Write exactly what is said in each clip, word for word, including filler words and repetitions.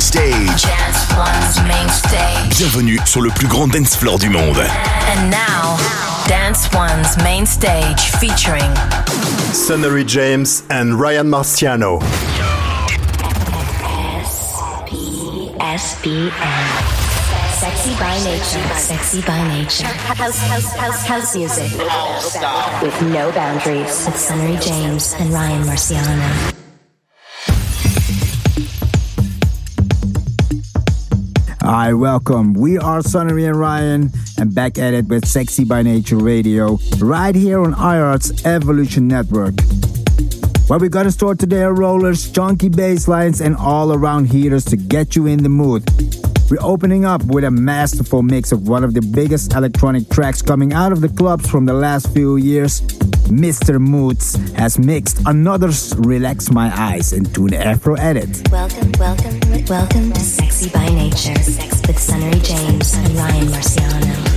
Stage. Dance One's Main Stage. Bienvenue sur le plus grand dance floor du monde. And now, Dance One's Main Stage featuring Sunnery James and Ryan Marciano. S B N. Sexy by nature. Sexy by nature. House, house, house, house music. With no boundaries. With Sunnery James and Ryan Marciano. Hi, welcome. We are Sunnery and Ryan, and back at it with Sexy by Nature Radio, right here on iHeart's Evolution Network. What we got in store today are rollers, chunky bass lines, and all-around heaters to get you in the mood. We're opening up with a masterful mix of one of the biggest electronic tracks coming out of the clubs from the last few years. Mister Moods has mixed another's Relax My Eyes into an Afro edit. Welcome, welcome, welcome to Sexy by Nature. Sex with Sunnery James and Ryan Marciano.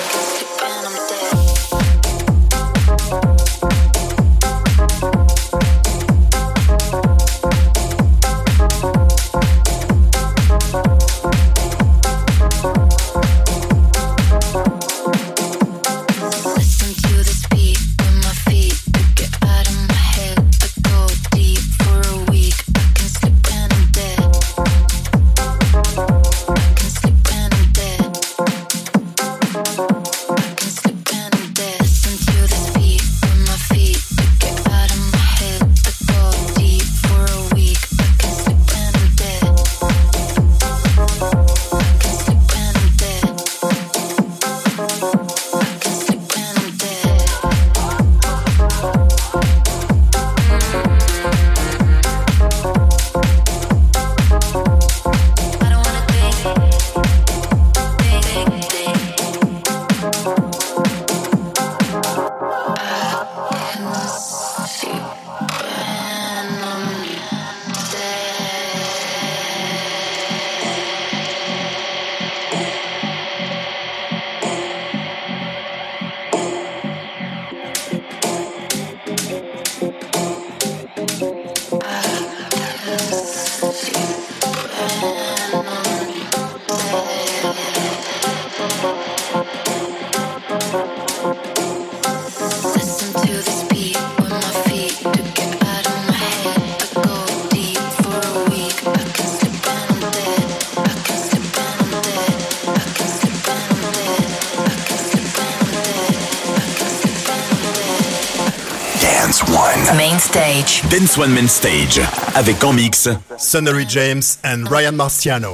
Main Stage. Dance One Main Stage. Avec en mix Sonnery James and Ryan Marciano.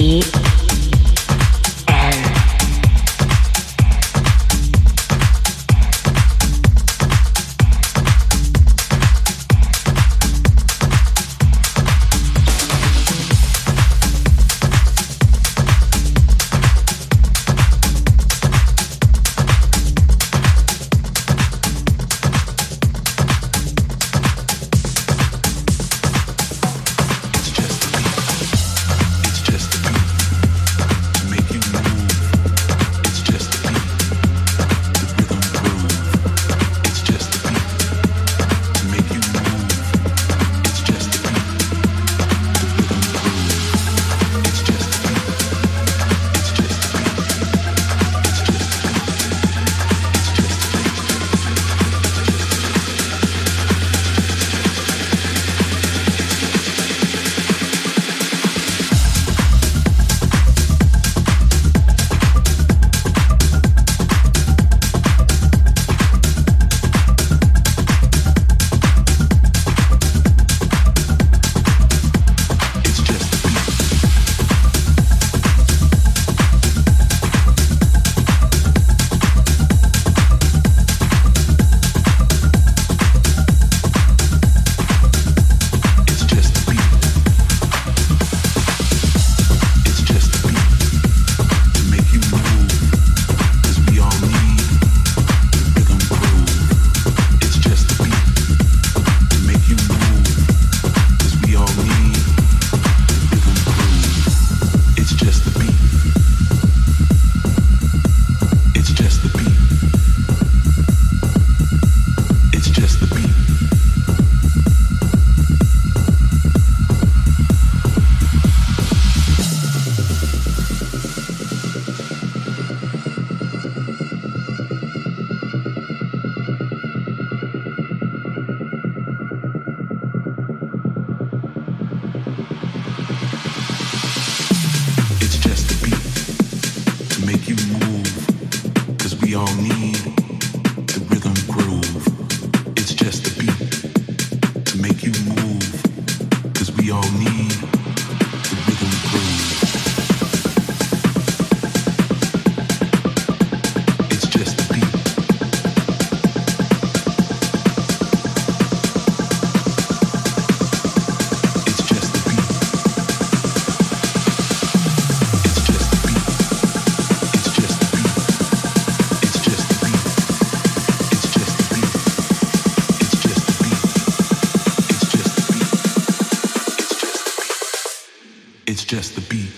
B N. Just the beat.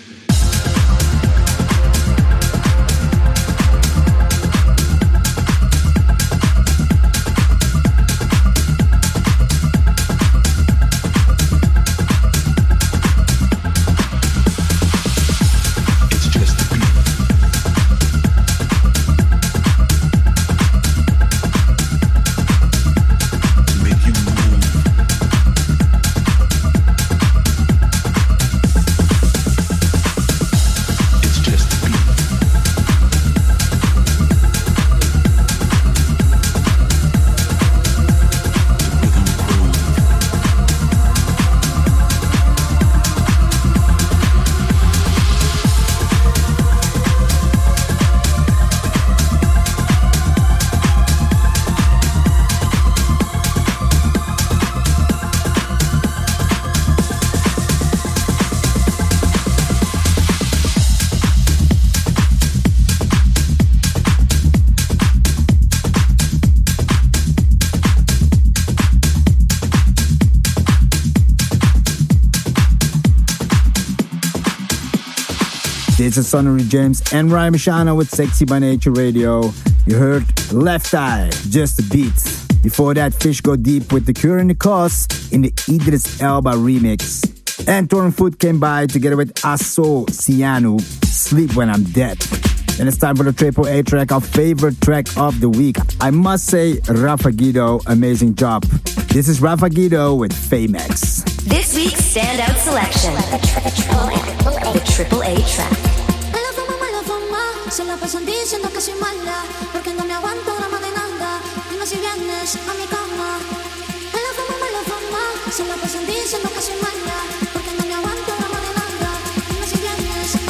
This is Sonny James and Ryan Machano with Sexy by Nature Radio. You heard Left Eye, Just a Beat. Before that, Fish Go Deep with The Cure and the Cause in the Idris Elba remix. And Torn Foot came by together with Asso Ciano, Sleep When I'm Dead. And it's time for the Triple A track, our favorite track of the week. I must say, Rafa Guido, amazing job. This is Rafa Guido with Famex. This week's standout selection, the Triple A track. Se la pasan diciendo que soy mala, porque no me aguanto drama de nada. Dime si vienes a mi cama. Mala fama, mala fama. Se la pasan diciendo que soy mala, porque no me aguanto drama de nada. Dime si vienes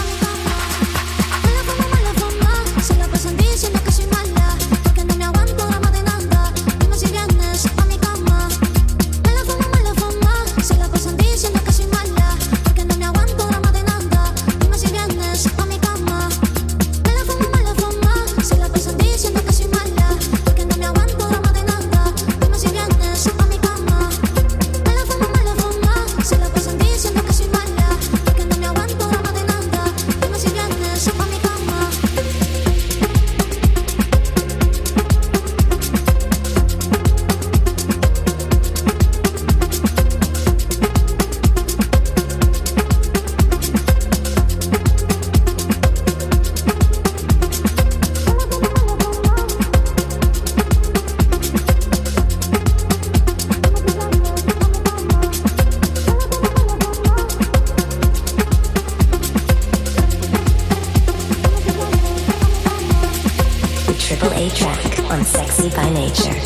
triple A track on Sexy by Nature.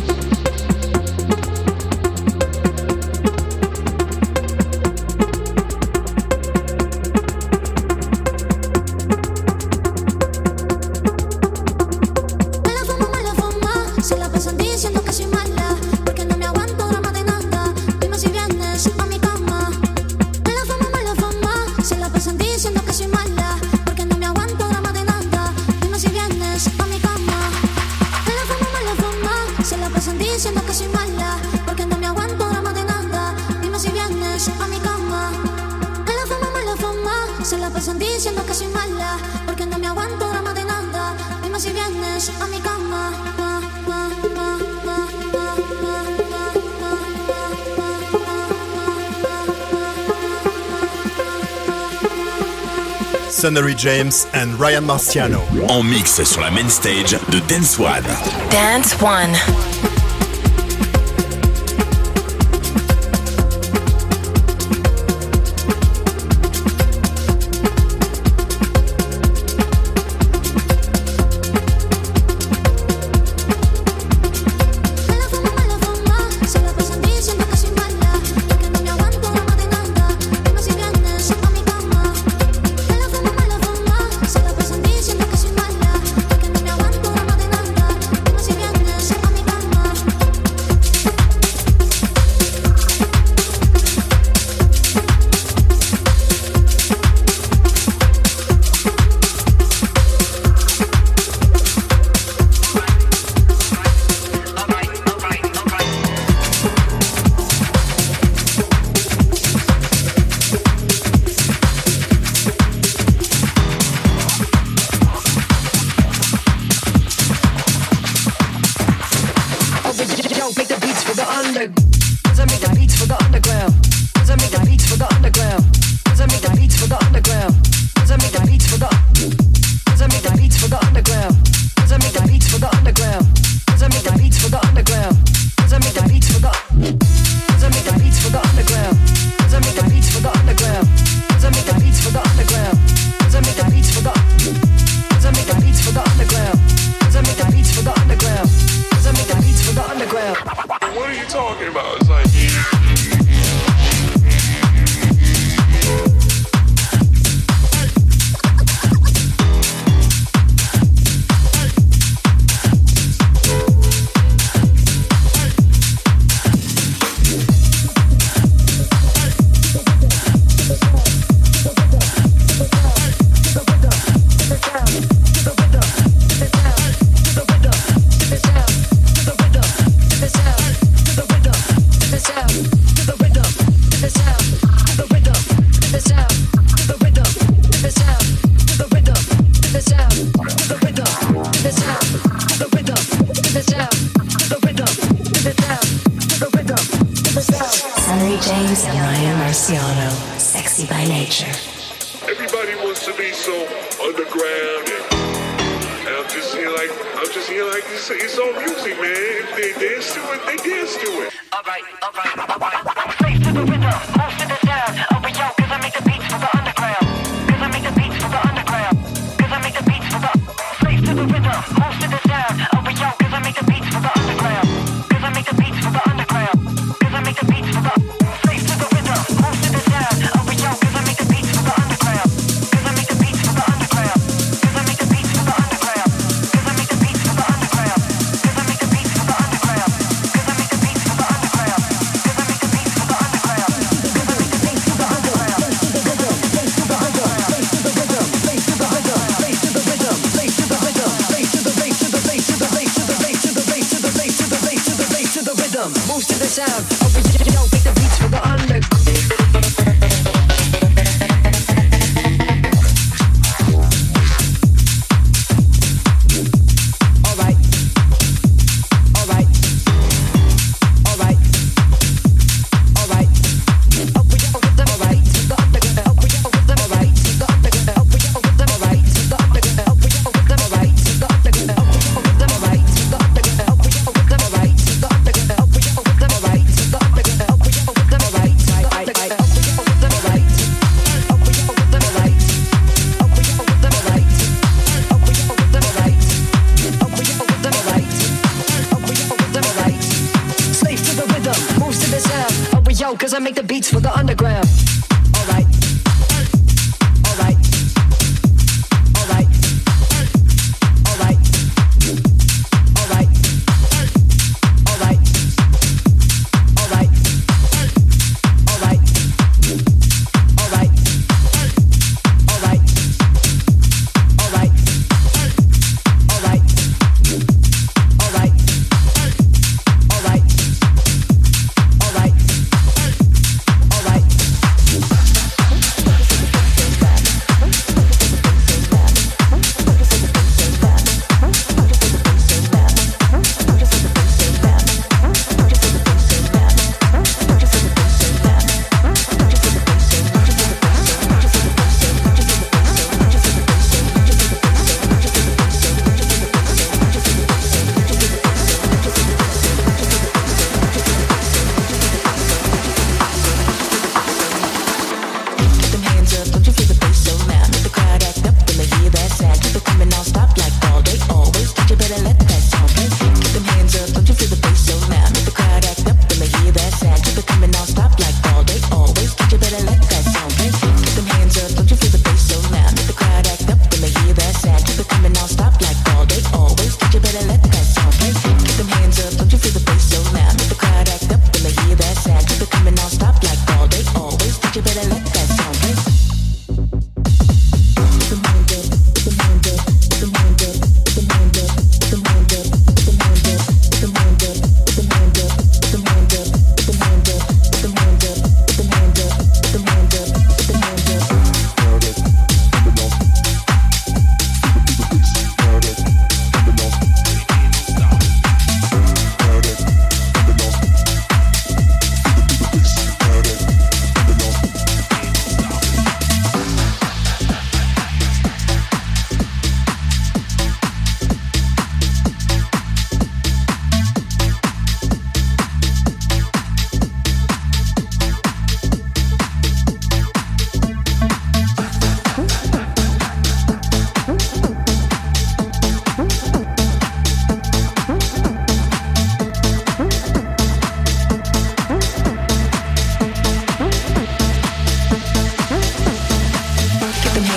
Sonnery James and Ryan Marciano. En mix sur la main stage de Dance One. Dance One. Right.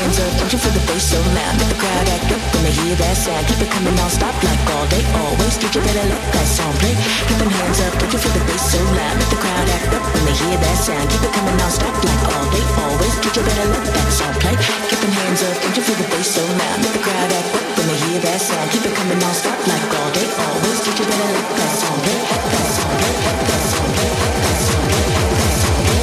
hands up, don't you feel the bass so loud? Make the crowd act up when they hear that sound. Keep it coming non-stop like all day, always. Did you better let that song play? Keep them hands up, don't you feel the bass so loud? Make the crowd act up when they hear that sound. Keep it coming non-stop like all day, always. Did you better let that song play? Keep them hands up, don't you feel the bass so loud? Make the crowd act up when they hear that sound. Keep it coming non-stop like all day, always. Did you better let that song play? That song play, that song play, that song play, that song play.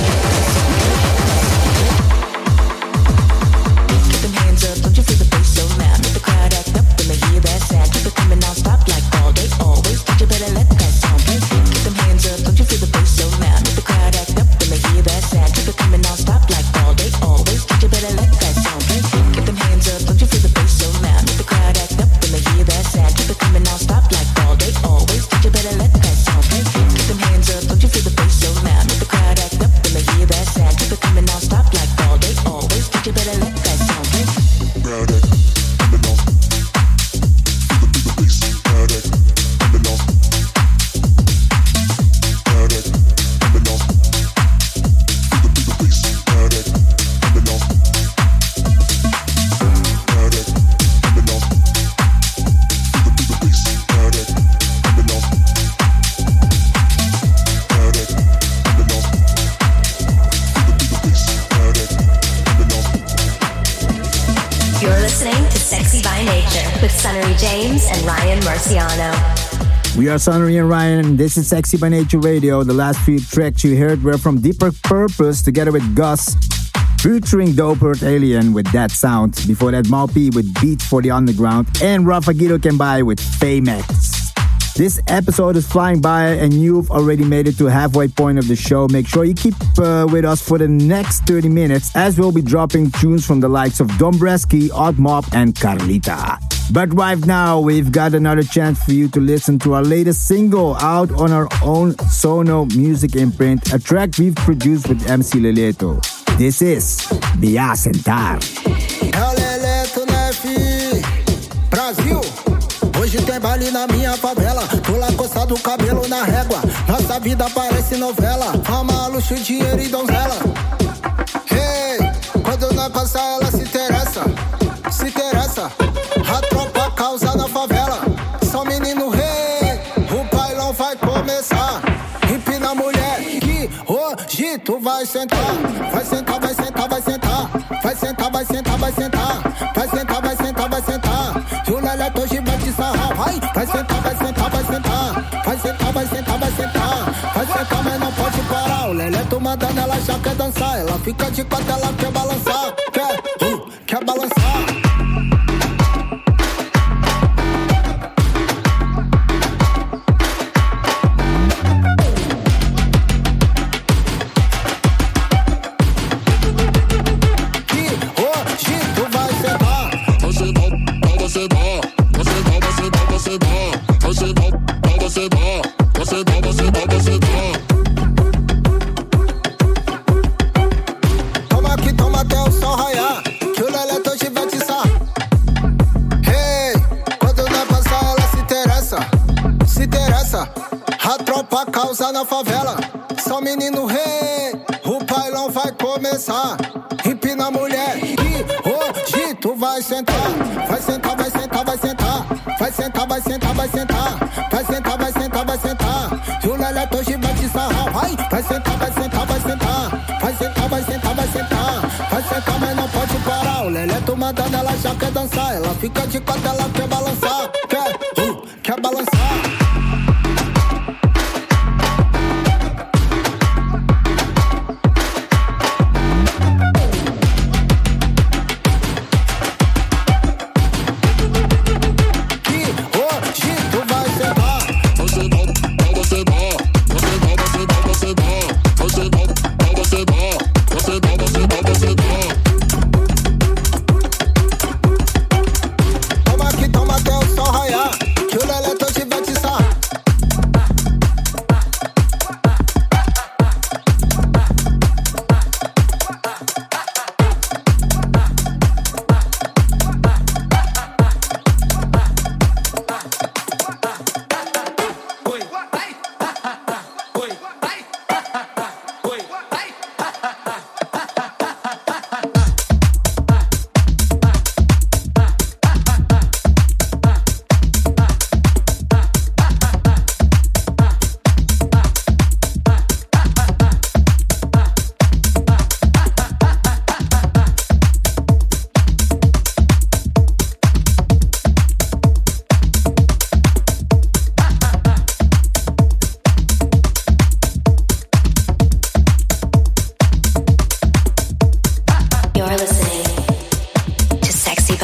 Keep them hands up, don't you feel the bass so loud? Make the crowd act up when they hear that sound. Keep it coming non-stop like all day, always. Did you better let that song play? Keep them hands up, don't you feel the bass so loud? Make the crowd act up when they hear that sound. Keep it coming non-stop like all day, always. Did you better let that song play? Keep them hands up, don't you feel the bass so loud? Make the crowd act up when they hear that sound. Keep it coming non-stop like all day, always. Did you better let that song play? Keep them hands up, don't you feel the bass so loud? Make the crowd act up when they hear that sound. Keep it coming non-stop like all day, always. Did you better let that song play? Crowd act, coming on. Feel the, feel the bass. Crowd act, coming on. Crowd act, coming on. Feel the, feel the bass. Crowd act, coming on. Crowd act, coming on. Feel the, feel the bass. Crowd act, coming on. Crowd act, coming on. Feel the, feel the bass. Crowd act, coming on. You're listening to Sexy by Nature with Sunnery James and Ryan Marciano. We are Sunnery and Ryan, and this is Sexy by Nature Radio. The last few tracks you heard were from Deeper Purpose together with Gus, featuring Dope Earth Alien with That Sound. Before that, Malpi with Beats for the Underground, and Rafa Guido Kembai with Famex. This episode is flying by, and you've already made it to halfway point of the show. Make sure you keep uh, with us for the next thirty minutes, as we'll be dropping tunes from the likes of Dombresky, Odd Mob, and Carlita. But right now, we've got another chance for you to listen to our latest single out on our own Sono music imprint, a track we've produced with M C Leleto. This is Via Sentar. Leleto, né, fi? Brasil! Hoje tem baile na minha favela. Pula coçado, cabelo na régua. Nossa vida parece novela. Fama, luxo, dinheiro e donzela. Hey, quando nós passar ela se interessa. Se interessa. A tropa causa na favela. Só menino rei. O bailão vai começar. Empina a mulher que hoje tu vai sentar. Vai sentar, vai sentar, vai sentar. Vai sentar, vai sentar, vai sentar. Vai sentar, vai sentar, vai sentar. E o Leleto hoje vai te sarrar. Vai, vai sentar, vai sentar, vai sentar. Vai sentar, vai sentar, vai sentar. Vai sentar, mas não pode parar. O Leleto mandando, ela já quer dançar. Ela fica de quatro, ela quer balançar. Quer, uh, quer balançar. Toma aqui, toma até o sol raiar, que o Leleto hoje vai te sar. Hey, quando nós passar ela se interessa, se interessa. A tropa causa na favela, só menino rei. O bailão vai começar. Empina a mulher que hoje tu vai sentar. Vai sentar, vai sentar, vai sentar. Vai sentar, vai sentar, vai sentar. Vai sentar, vai sentar, vai sentar. E o Leleto hoje vai te sarrar. Vai, vai sentar, vai sentar, vai sentar. Vai sentar, vai sentar, vai sentar. Vai sentar, mas não pode parar. O Leleto mandando, ela já quer dançar. Ela fica de quatro, ela quer balançar. Quer, uh, quer balançar. Toma aqui, toma até o sol raiar,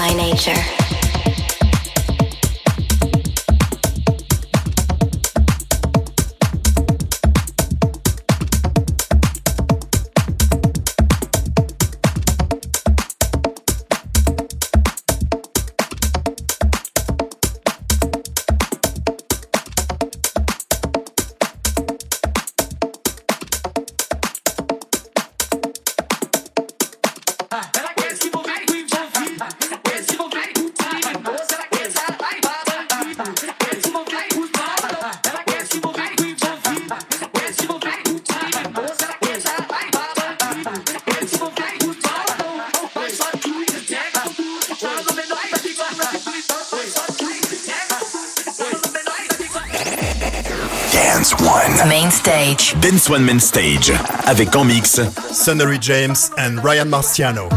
by nature. Main Stage. Dance One Main Stage. Avec en mix Sonnery James and Ryan Marciano.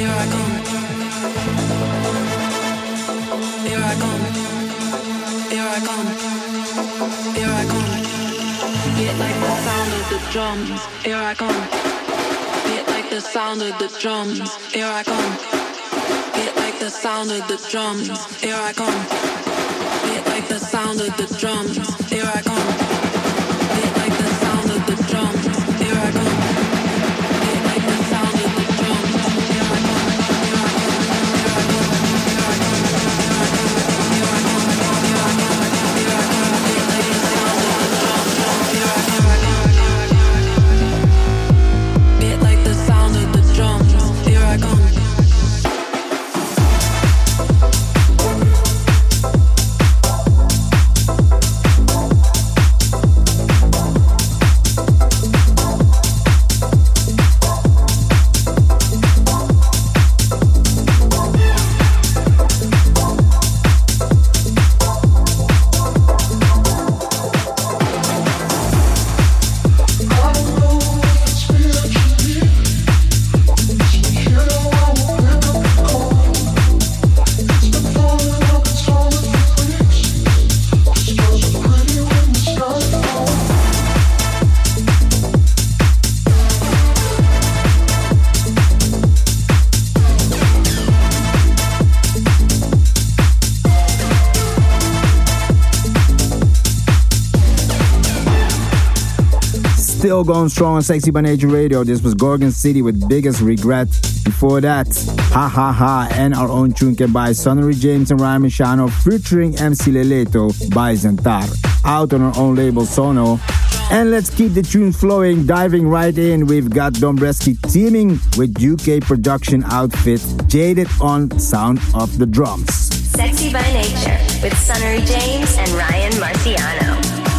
Still going strong on Sexy by Nature Radio. This was Gorgon City with Biggest Regret. Before that, Ha Ha Ha and our own tune by Sonny James and Ryan Marciano featuring M C Leleto by Zentar. Out on our own label Sono. And let's keep the tunes flowing. Diving right in, we've got Dombresky teaming with U K production outfit Jaded on Sound of the Drums. Sexy by Nature with Sonny James and Ryan Marciano.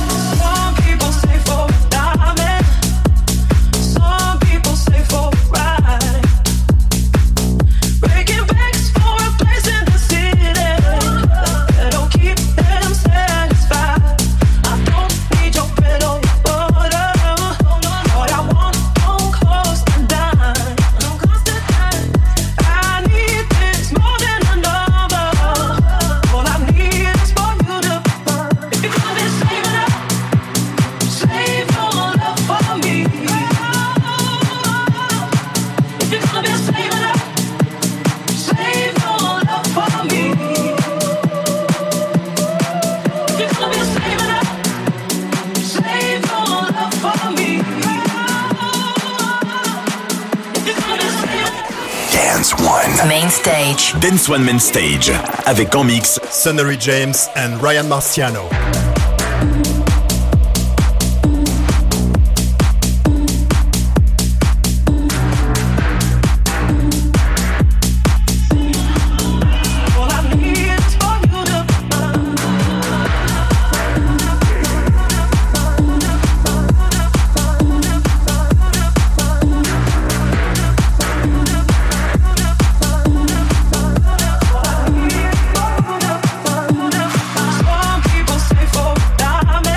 Some people say for a diamond, some people say for a ride. Breaking banks for a place in the city that'll keep them satisfied. I don't need your bread or your butter. All I want don't cost a dime. I need this more than a number. All I need is for you to burn. If you're gonna be saving up, save your love for me. If you're gonna be saving up, save your love for me. If you're gonna be saving up, save your love for me. If you're gonna be saving Dance One. Main Stage. Dance One Main Stage. Avec en mix Sonny James and Ryan Marciano. all I need is for you to burn. Some people say for a diamond.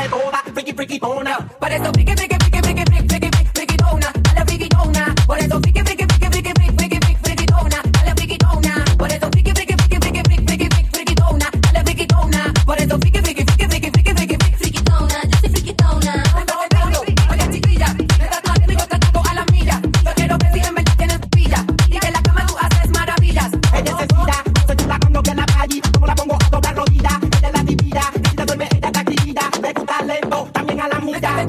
hace toda, friki, frikitona. Por eso friki, friki, friki, friki, friki, friki, frikitona, a la frikitona. Por eso friki, friki, friki, friki, friki, friki, frikitona, a la frikitona. Por eso friki, friki, friki, friki, friki, friki, frikitona, a la frikitona. Por eso friki, friki, friki, friki, friki, friki, frikitona, yo soy frikitona. Oye chiquilla, me estás haciendo y yo te ataco a la milla. Yo quiero ver si en verdad tienes pilla y que en la cama tú haces maravillas. Ella es sencilla, soy chula cuando que la calle, como la pongo a doblar rodillas. Ella es la divina, ella duerme, ella está activa. Me gusta lento, también a la milla.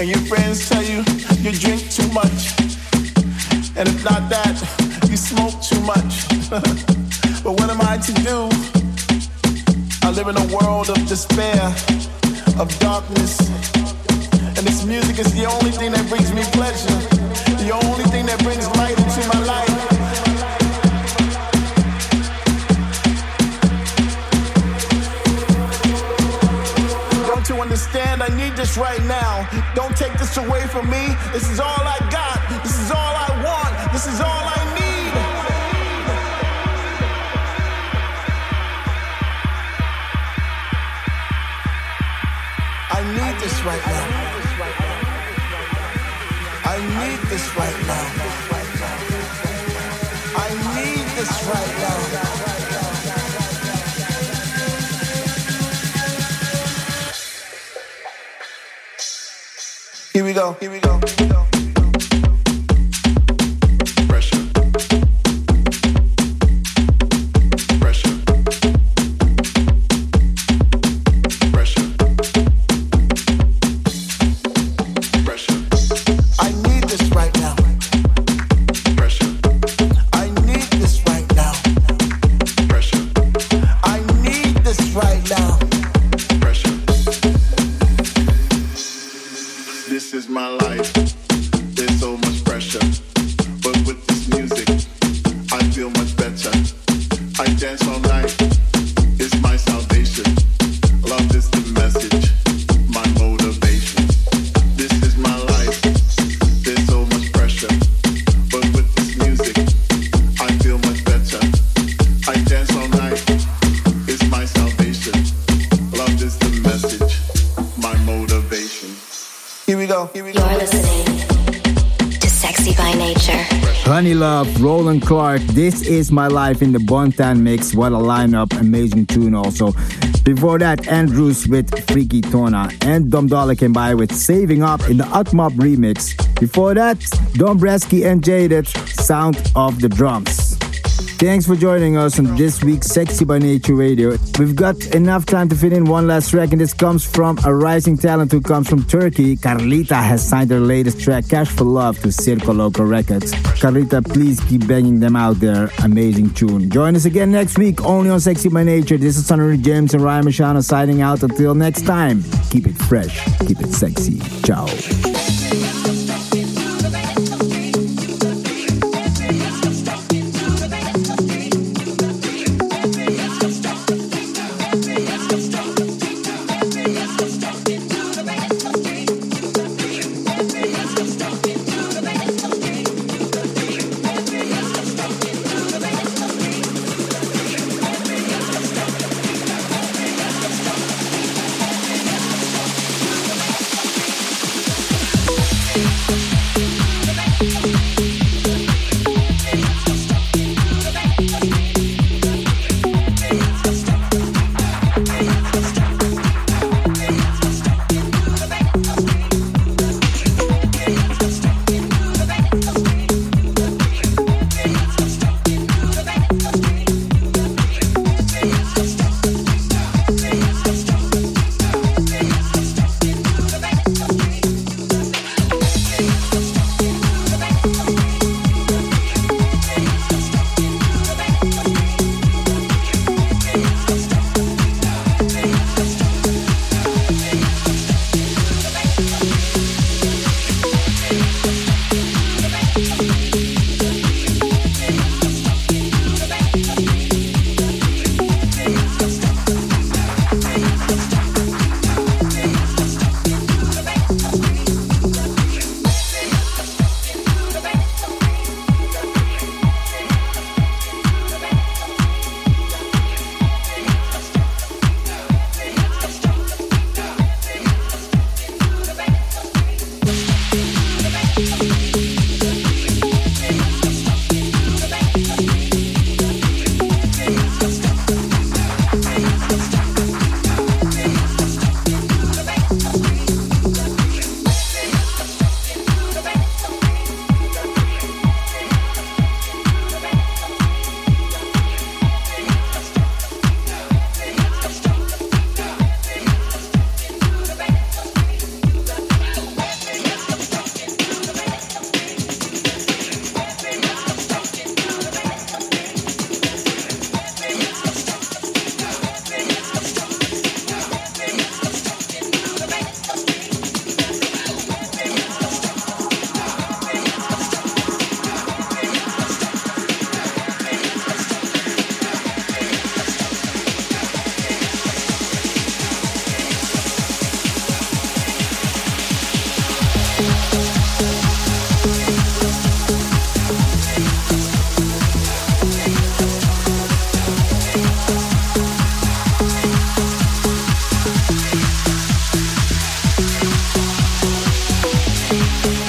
and your friends tell you you drink too much, and if not that, you smoke too much. But what am I to do? I live in a world of despair, of darkness, and this music is the only thing that brings me pleasure, the only thing that brings light into my life. Don't you understand? I need this right now. Don't take this away from me. This is all I got. This is all I want. This is all I need. I need this right now. I need this right now. I need this right now. Here we go, here we go, here we go. Pressure. Pressure. Pressure. Pressure. I need this right now. Pressure. I need this right now. Pressure. I need this right now. Pressure. This is my life. There's so much pressure, but with this music, I feel much better. I dance all night. It's my salvation. Love is the message, my motivation. This is my life. There's so much pressure, but with this music, I feel much better. I dance all night. It's my salvation. Love is the message, my motivation. Here we go. Here we go. You're listening to Sexy by Nature. Honey Love, Roland Clark, This Is My Life in the Bontan mix. What a lineup, amazing tune also. Before that, Andrews with Freaky Tona, and Dom Dollar came by with Saving Up in the Utmob remix. Before that, Dombresky and Jaded, Sound of the Drums. Thanks for joining us on this week's Sexy by Nature Radio. We've got enough time to fit in one last track, and this comes from a rising talent who comes from Turkey. Carlita has signed her latest track, Cash for Love, to Circo Loco Records. Carlita, please keep banging them out there. Amazing tune. Join us again next week, only on Sexy by Nature. This is Sonny James and Ryan Machano signing out. Until next time, keep it fresh, keep it sexy. Ciao. Thank you.